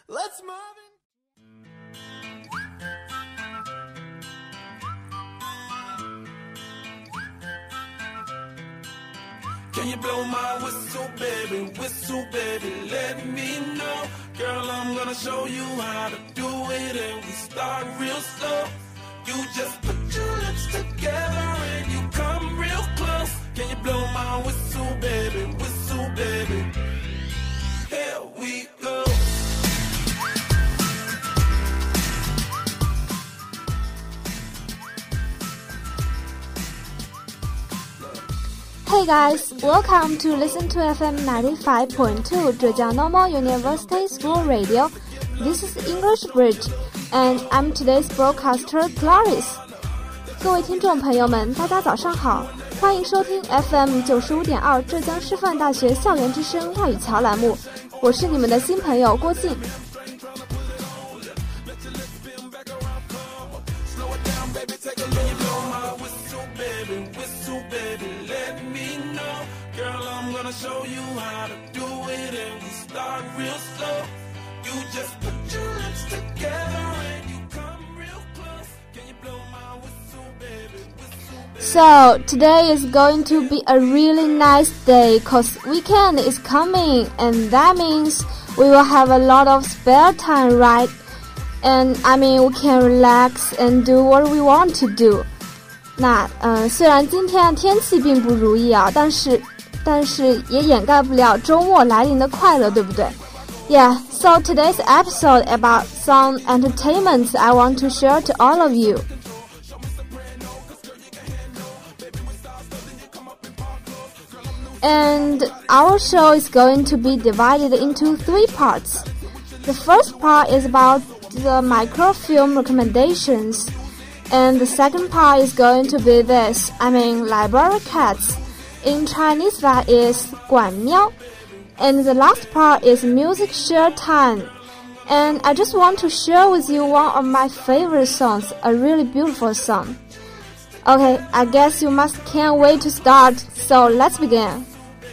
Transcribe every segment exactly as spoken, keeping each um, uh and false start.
Let's move in. Can you blow my whistle, baby, whistle, baby, let me know. Girl, I'm gonna show you how to do it, and we start real slow. You just put your lips together and you come real close. Can you blow my whistle, baby, whistle, baby? Here we go. Hey guys, welcome to Listen to F M ninety-five point two Zhejiang Normal University School Radio. This is English Bridge, and I'm today's broadcaster Clarice. 各位听众朋友们，大家早上好，欢迎收听 F M 九十五点二浙江师范大学校园之声外语桥栏目，我是你们的新朋友郭靖。 Show you how to do it and we start real slow. You just put your lips together and you come real close. Can you blow my whistle, baby, whistle, baby? So today is going to be a really nice day cause weekend is coming, and that means we will have a lot of spare time, right? And I mean we can relax and do what we want to do. 那呃虽然今天天气并不如意啊，但是但是也掩盖不了周末来临的快乐，对不对？ Yeah, so today's episode about some entertainments I want to share to all of you. And our show is going to be divided into three parts. The first part is about the microfilm recommendations. And the second part is going to be this, I mean library cats.In Chinese, that is 管喵. And the last part is music share time. And I just want to share with you one of my favorite songs, a really beautiful song. Okay, I guess you must can't wait to start, so let's begin.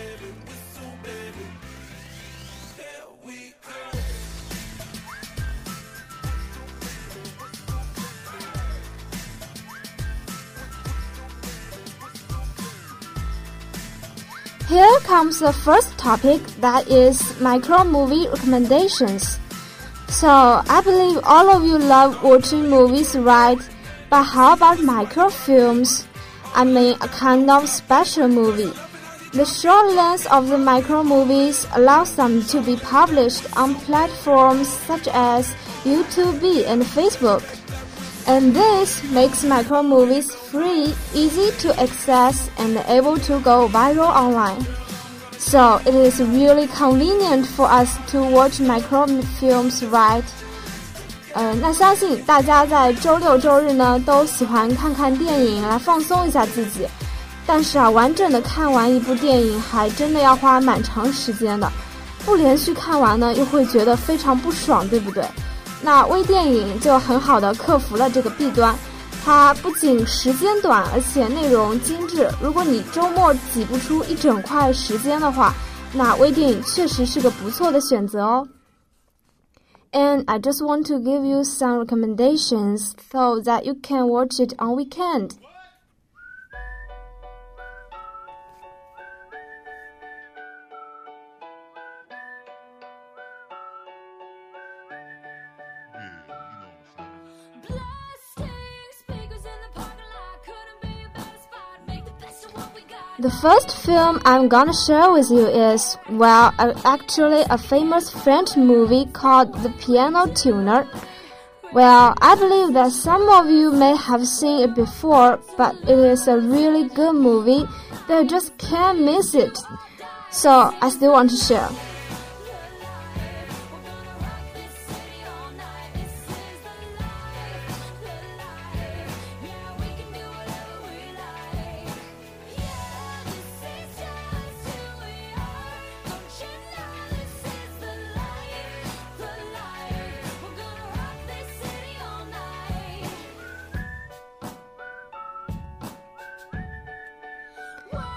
Here comes the first topic, that is micro movie recommendations. So, I believe all of you love watching movies, right? But how about microfilms? I mean a kind of special movie. The short length of the micro movies allows them to be published on platforms such as YouTube and Facebook.And this makes micro movies free, easy to access, and able to go viral online. So it is really convenient for us to watch microfilms, right? 呃，那相信大家在周六周日呢都喜欢看看电影来放松一下自己。但是啊，完整的看完一部电影还真的要花蛮长时间的，不连续看完呢又会觉得非常不爽，对不对？那微电影就很好的克服了这个弊端，它不仅时间短，而且内容精致。如果你周末挤不出一整块时间的话，那微电影确实是个不错的选择哦。And I just want to give you some recommendations so that you can watch it on weekend.The first film I'm gonna share with you is, well, uh, actually a famous French movie called The Piano Tuner. Well, I believe that some of you may have seen it before, but it is a really good movie that you just can't miss it. So, I still want to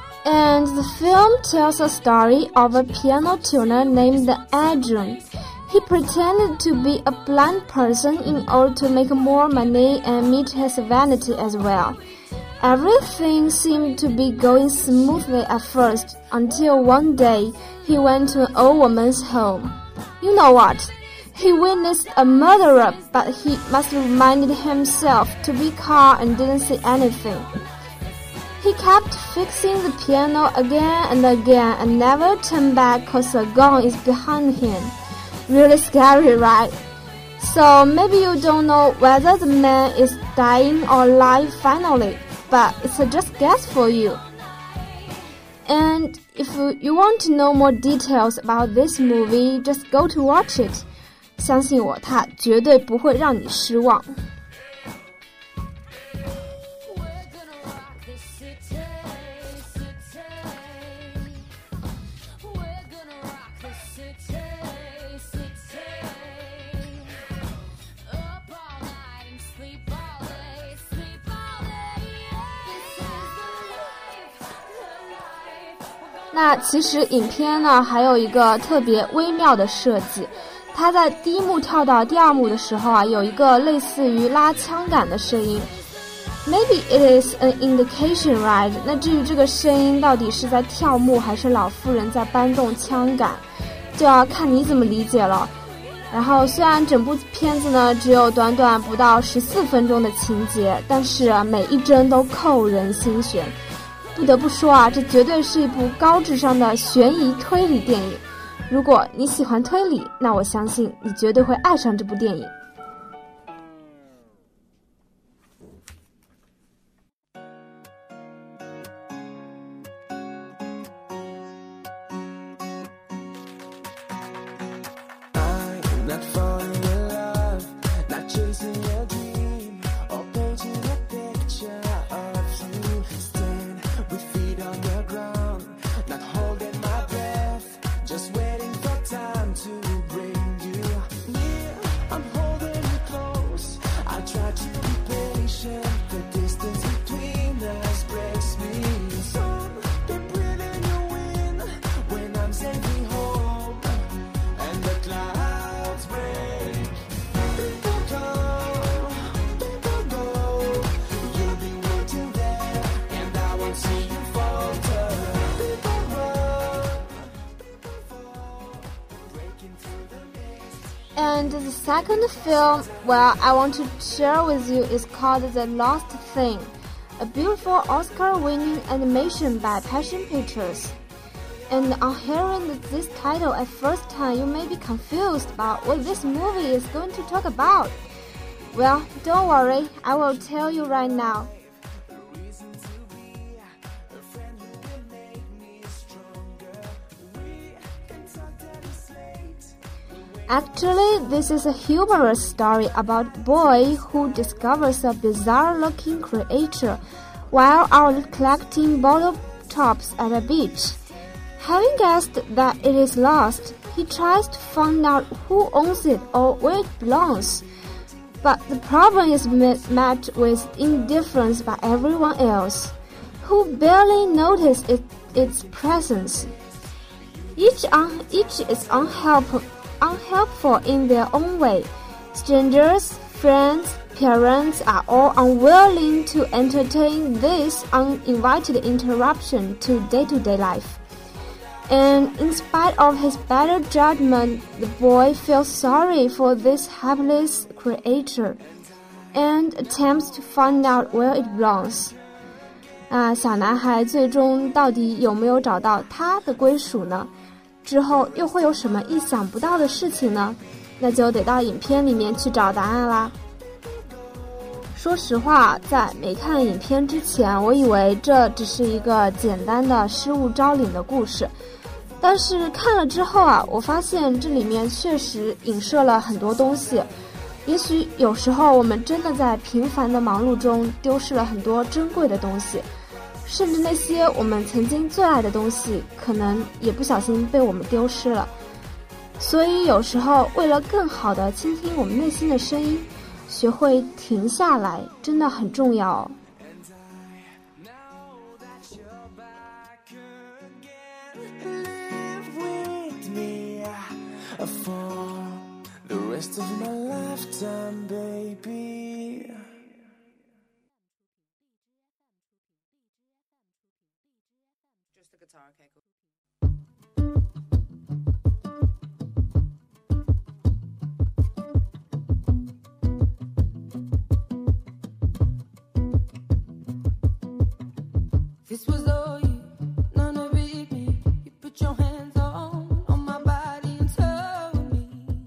share.And the film tells a story of a piano tuner named Adrian. He pretended to be a blind person in order to make more money and meet his vanity as well. Everything seemed to be going smoothly at first, until one day he went to an old woman's home. You know what? He witnessed a murderer, but he must have reminded himself to be calm and didn't say anything. He kept fixing the piano again and again and never turned back cause a gun is behind him. Really scary, right? So maybe you don't know whether the man is dying or alive finally, but it's a just guess for you. And if you want to know more details about this movie, just go to watch it. 相信我，它绝对不会让你失望。那其实影片呢还有一个特别微妙的设计，它在第一幕跳到第二幕的时候啊，有一个类似于拉枪杆的声音。Maybe it is an indication, right? 那至于这个声音到底是在跳幕还是老妇人在搬动枪杆，就要看你怎么理解了。然后虽然整部片子呢只有短短不到十四分钟的情节，但是啊每一帧都扣人心弦。不得不说啊，这绝对是一部高智商的悬疑推理电影。如果你喜欢推理，那我相信你绝对会爱上这部电影。And the second film, well, I want to share with you is called The Lost Thing, a beautiful Oscar-winning animation by Passion Pictures. And on hearing this title at first time, you may be confused about what this movie is going to talk about. Well, don't worry, I will tell you right now. Actually, this is a humorous story about a boy who discovers a bizarre-looking creature while out collecting bottle tops at a beach. Having guessed that it is lost, he tries to find out who owns it or where it belongs. But the problem is met with indifference by everyone else, who barely notice it, its presence. Each, un, each is unhelpful. unhelpful in their own way. Strangers, friends, parents are all unwilling to entertain this uninvited interruption to day-to-day life. And in spite of his better judgment, the boy feels sorry for this helpless creature and attempts to find out where it belongs. 啊，小男孩最终到底有没有找到他的归属呢？之后又会有什么意想不到的事情呢？那就得到影片里面去找答案啦。说实话，在没看影片之前，我以为这只是一个简单的失物招领的故事，但是看了之后啊，我发现这里面确实影射了很多东西。也许有时候我们真的在平凡的忙碌中丢失了很多珍贵的东西，甚至那些我们曾经最爱的东西，可能也不小心被我们丢失了。所以有时候为了更好地倾听我们内心的声音，学会停下来真的很重要哦。 For rest of my lifetime, baby. Just the guitar, okay, cool. This was all you, none of it me. You put your hands on, on my body and told me,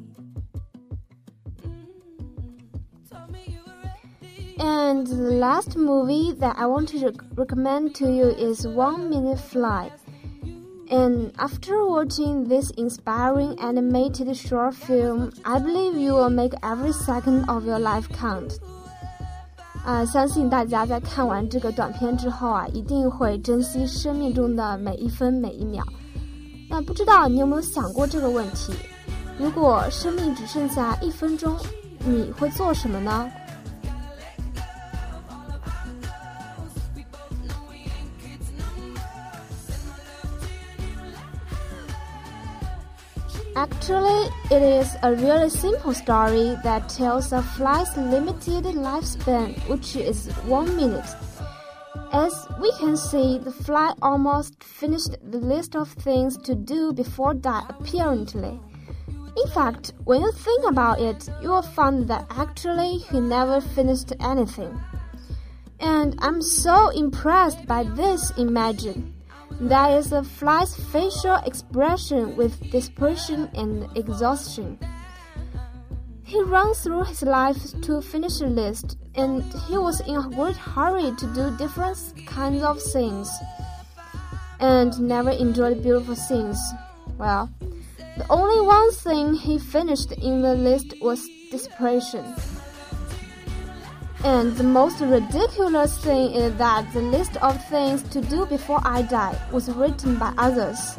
mm, told me you were ready. And the last movie that I want to recommend to you is One Minute Flight. And after watching this inspiring animated short film, I believe you will make every second of your life count. 啊、呃，相信大家在看完这个短片之后啊，一定会珍惜生命中的每一分每一秒。那不知道你有没有想过这个问题？如果生命只剩下一分钟，你会做什么呢？Actually, it is a really simple story that tells a fly's limited lifespan, which is one minute. As we can see, the fly almost finished the list of things to do before that, apparently. In fact, when you think about it, you will find that actually he never finished anything. And I'm so impressed by this imagine.That is a fly's facial expression with desperation and exhaustion. He runs through his life to finish a list, and he was in a great hurry to do different kinds of things, and never enjoyed beautiful things. Well, the only one thing he finished in the list was desperation.And the most ridiculous thing is that the list of things to do before I die was written by others.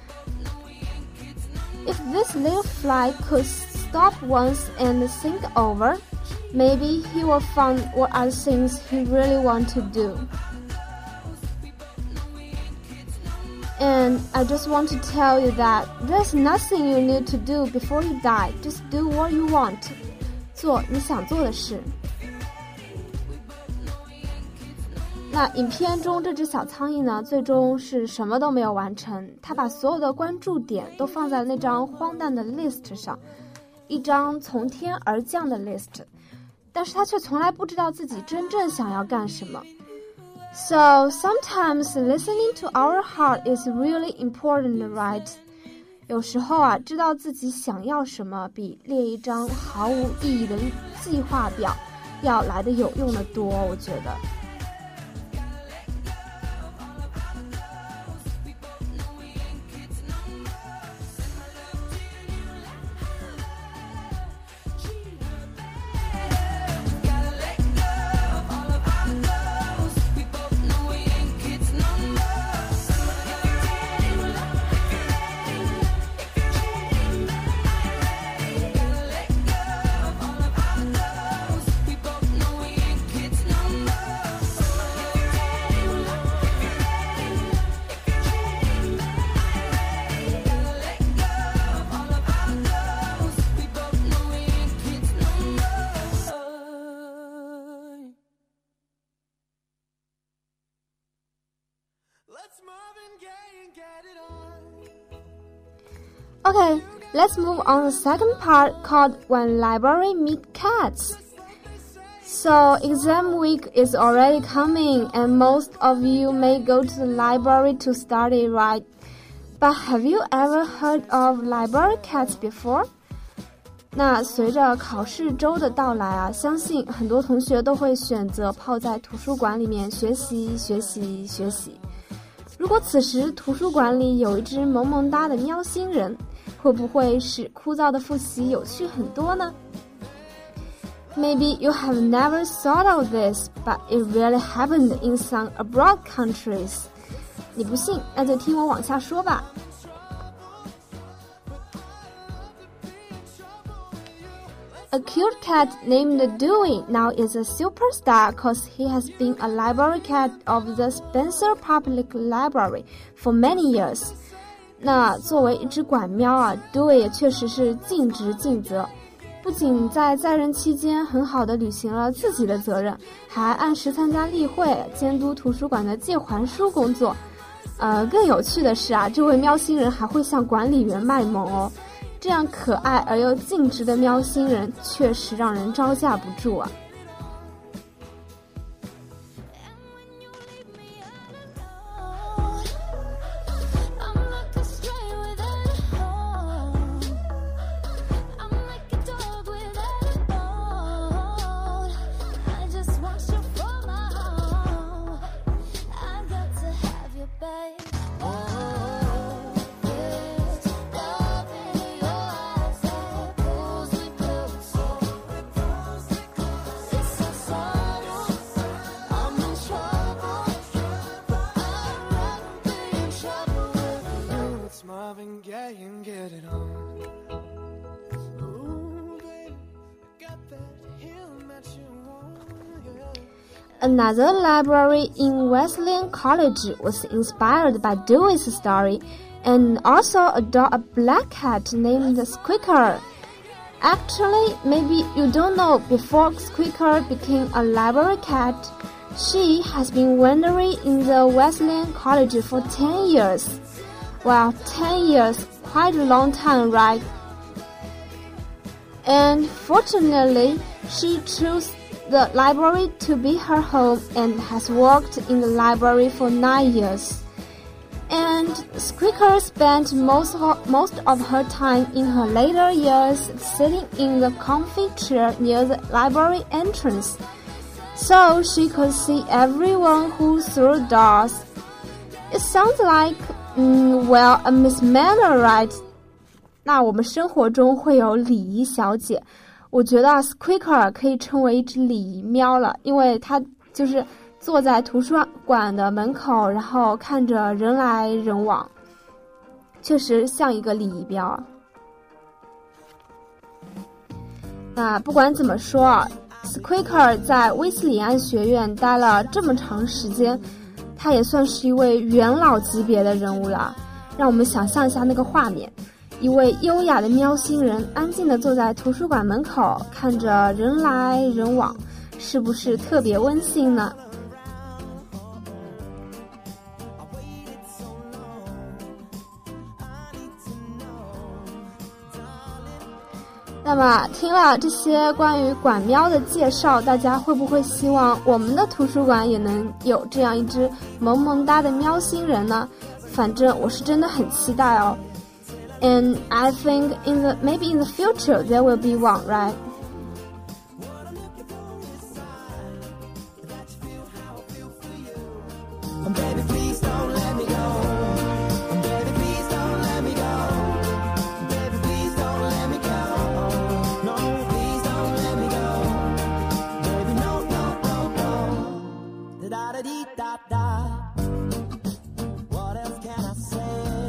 If this little fly could stop once and think over, maybe he will find what are the things he really wants to do. And I just want to tell you that there's nothing you need to do before you die. Just do what you want. 做你想做的事。那影片中这只小苍蝇呢，最终是什么都没有完成。它把所有的关注点都放在那张荒诞的 list 上，一张从天而降的 list， 但是它却从来不知道自己真正想要干什么。So sometimes listening to our heart is really important, right? 有时候啊，知道自己想要什么，比列一张毫无意义的计划表要来得有用的多，我觉得。Okay, let's move on to the second part called When Library Meet Cats. So, exam week is already coming and most of you may go to the library to study, right? But have you ever heard of library cats before? 那随着考试周的到来啊，相信很多同学都会选择泡在图书馆里面学习学习学习。如果此时图书馆里有一只萌萌哒的喵星人，会不会使枯燥的复习有趣很多呢？ Maybe you have never thought of this, but it really happened in some abroad countries. 你不信，那就听我往下说吧。A cute cat named Dewey now is a superstar because he has been a library cat of the Spencer Public Library for many years. 那作为一只管喵啊 Dewey 也确实是尽职尽责。 不仅在在任期间很好的履行了自己的责任，还按时参加例会，监督图书馆的借还书工作。呃，更有趣的是啊，这位喵星人还会向管理员卖萌哦。这样可爱而又尽职的喵星人，确实让人招架不住啊。Another library in Wesleyan College was inspired by Dewey's story and also adored a black cat named Squeaker. Actually, maybe you don't know, before Squeaker became a library cat, she has been wandering in the Wesleyan College for ten years. Well, ten years, quite a long time, right? And fortunately, she chose the library to be her home and has worked in the library for nine years. And Squeaker spent most of, most of her time in her later years sitting in the comfy chair near the library entrance, so she could see everyone who through doors. It sounds like, mm, well, a mismanner, right? 那我们生活中会有礼仪小姐，我觉得 Squeaker 可以称为一只礼仪喵了，因为它就是坐在图书馆的门口，然后看着人来人往，确实像一个礼仪喵啊。那不管怎么说啊 ，Squeaker 在威斯里安学院待了这么长时间，他也算是一位元老级别的人物了。让我们想象一下那个画面。一位优雅的喵星人安静地坐在图书馆门口，看着人来人往，是不是特别温馨呢？那么听了这些关于管喵的介绍，大家会不会希望我们的图书馆也能有这样一只萌萌哒的喵星人呢？反正我是真的很期待哦。And I think in the maybe in the future there will be one, right? Baby, please don't let me go. Baby, please don't let me go. Baby, please don't let me go. No, please don't let me go. Baby, no, no, no, no. Da da dee da da. What else can I say?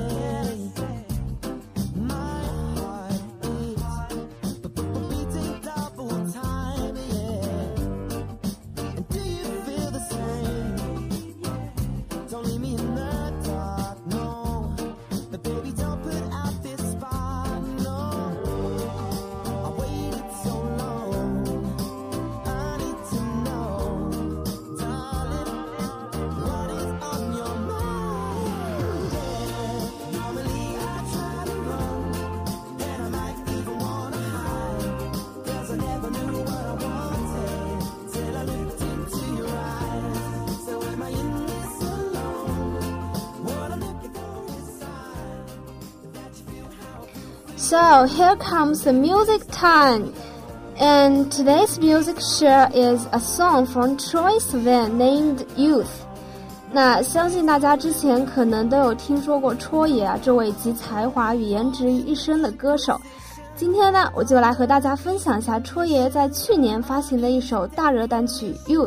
So here comes the music time. And today's music share is a song from Troye Sivan named Youth. 那相信大家之前可能都有听说过戳爷啊，这位集才华与颜值于一身的歌手。今天呢，我就来和大家分享一下戳爷在去年发行的一首大热单曲 Youth。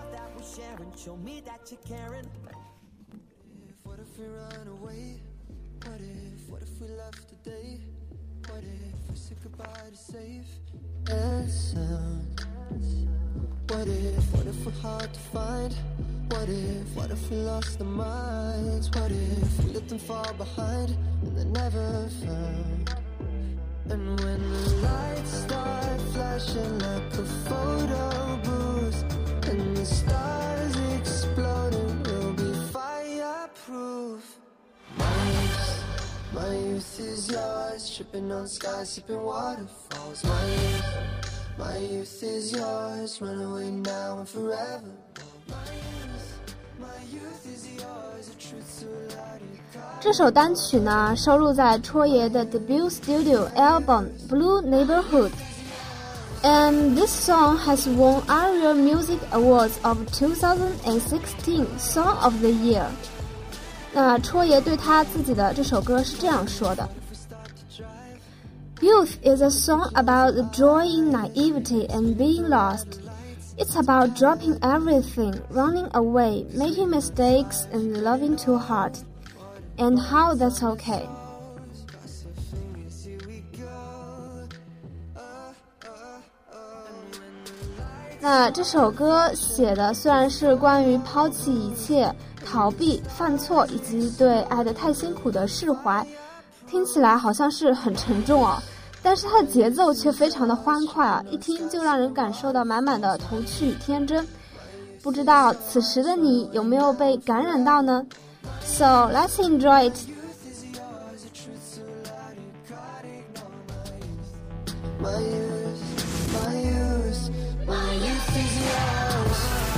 What if, what if we're hard to find? What if, what if we lost our minds? What if we let them fall behind and they're never found? And when the lights start flashing like a photo booth, and the stars exploding will be fireproof. My youth, my youth is yours, tripping on skies, sipping waterfalls. My youth, my youth is yours, run away now and forever. My youth, my youth is yours, a truth so loud you can't. 这首单曲呢，收录在戳爷的 debut studio album Blue Neighborhood。And this song has won ARIA Music Awards of twenty sixteen Song of the Year。那戳爷对他自己的这首歌是这样说的 ：Youth is a song about the joy in naivety and being lost. It's about dropping everything, running away, making mistakes, and loving too hard. And how that's okay. 那这首歌写的虽然是关于抛弃一切、逃避、犯错以及对爱得太辛苦的释怀，听起来好像是很沉重哦，但是它的节奏却非常的欢快啊，一听就让人感受到满满的童趣与天真。不知道此时的你有没有被感染到呢？ So let's enjoy it. My youth, my youth, my youth is yours.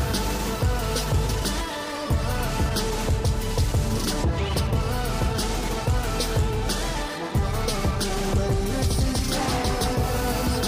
My youth is yours.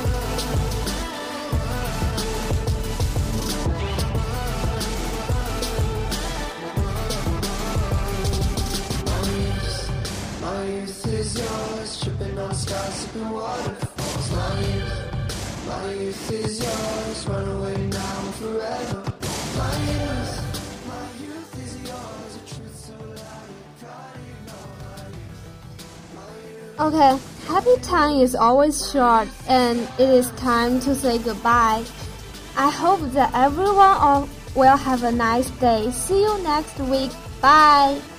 My youth, my youth is yours, tripping on skies, sipping water.My youth, my youth is yours, run away now and forever. My youth, my youth is yours, a truth so loud you can't ignore. My youth, Okay, happy time is always short and it is time to say goodbye. I hope that everyone will have a nice day. See you next week. Bye.